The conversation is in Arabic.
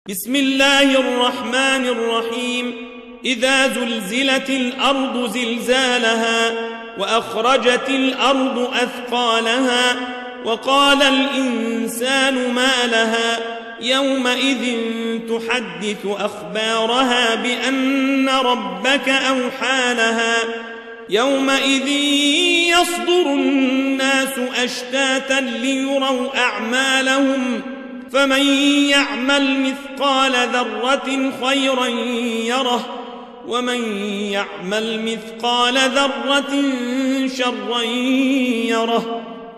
بسم الله الرحمن الرحيم. إذا زلزلت الأرض زلزالها وأخرجت الأرض أثقالها وقال الإنسان ما لها يومئذ تحدث أخبارها بأن ربك أوحى لها يومئذ يصدر الناس أشتاتا ليروا أعمالهم فمن يعمل مثقال ذرة خيرا يره ومن يعمل مثقال ذرة شرا يره.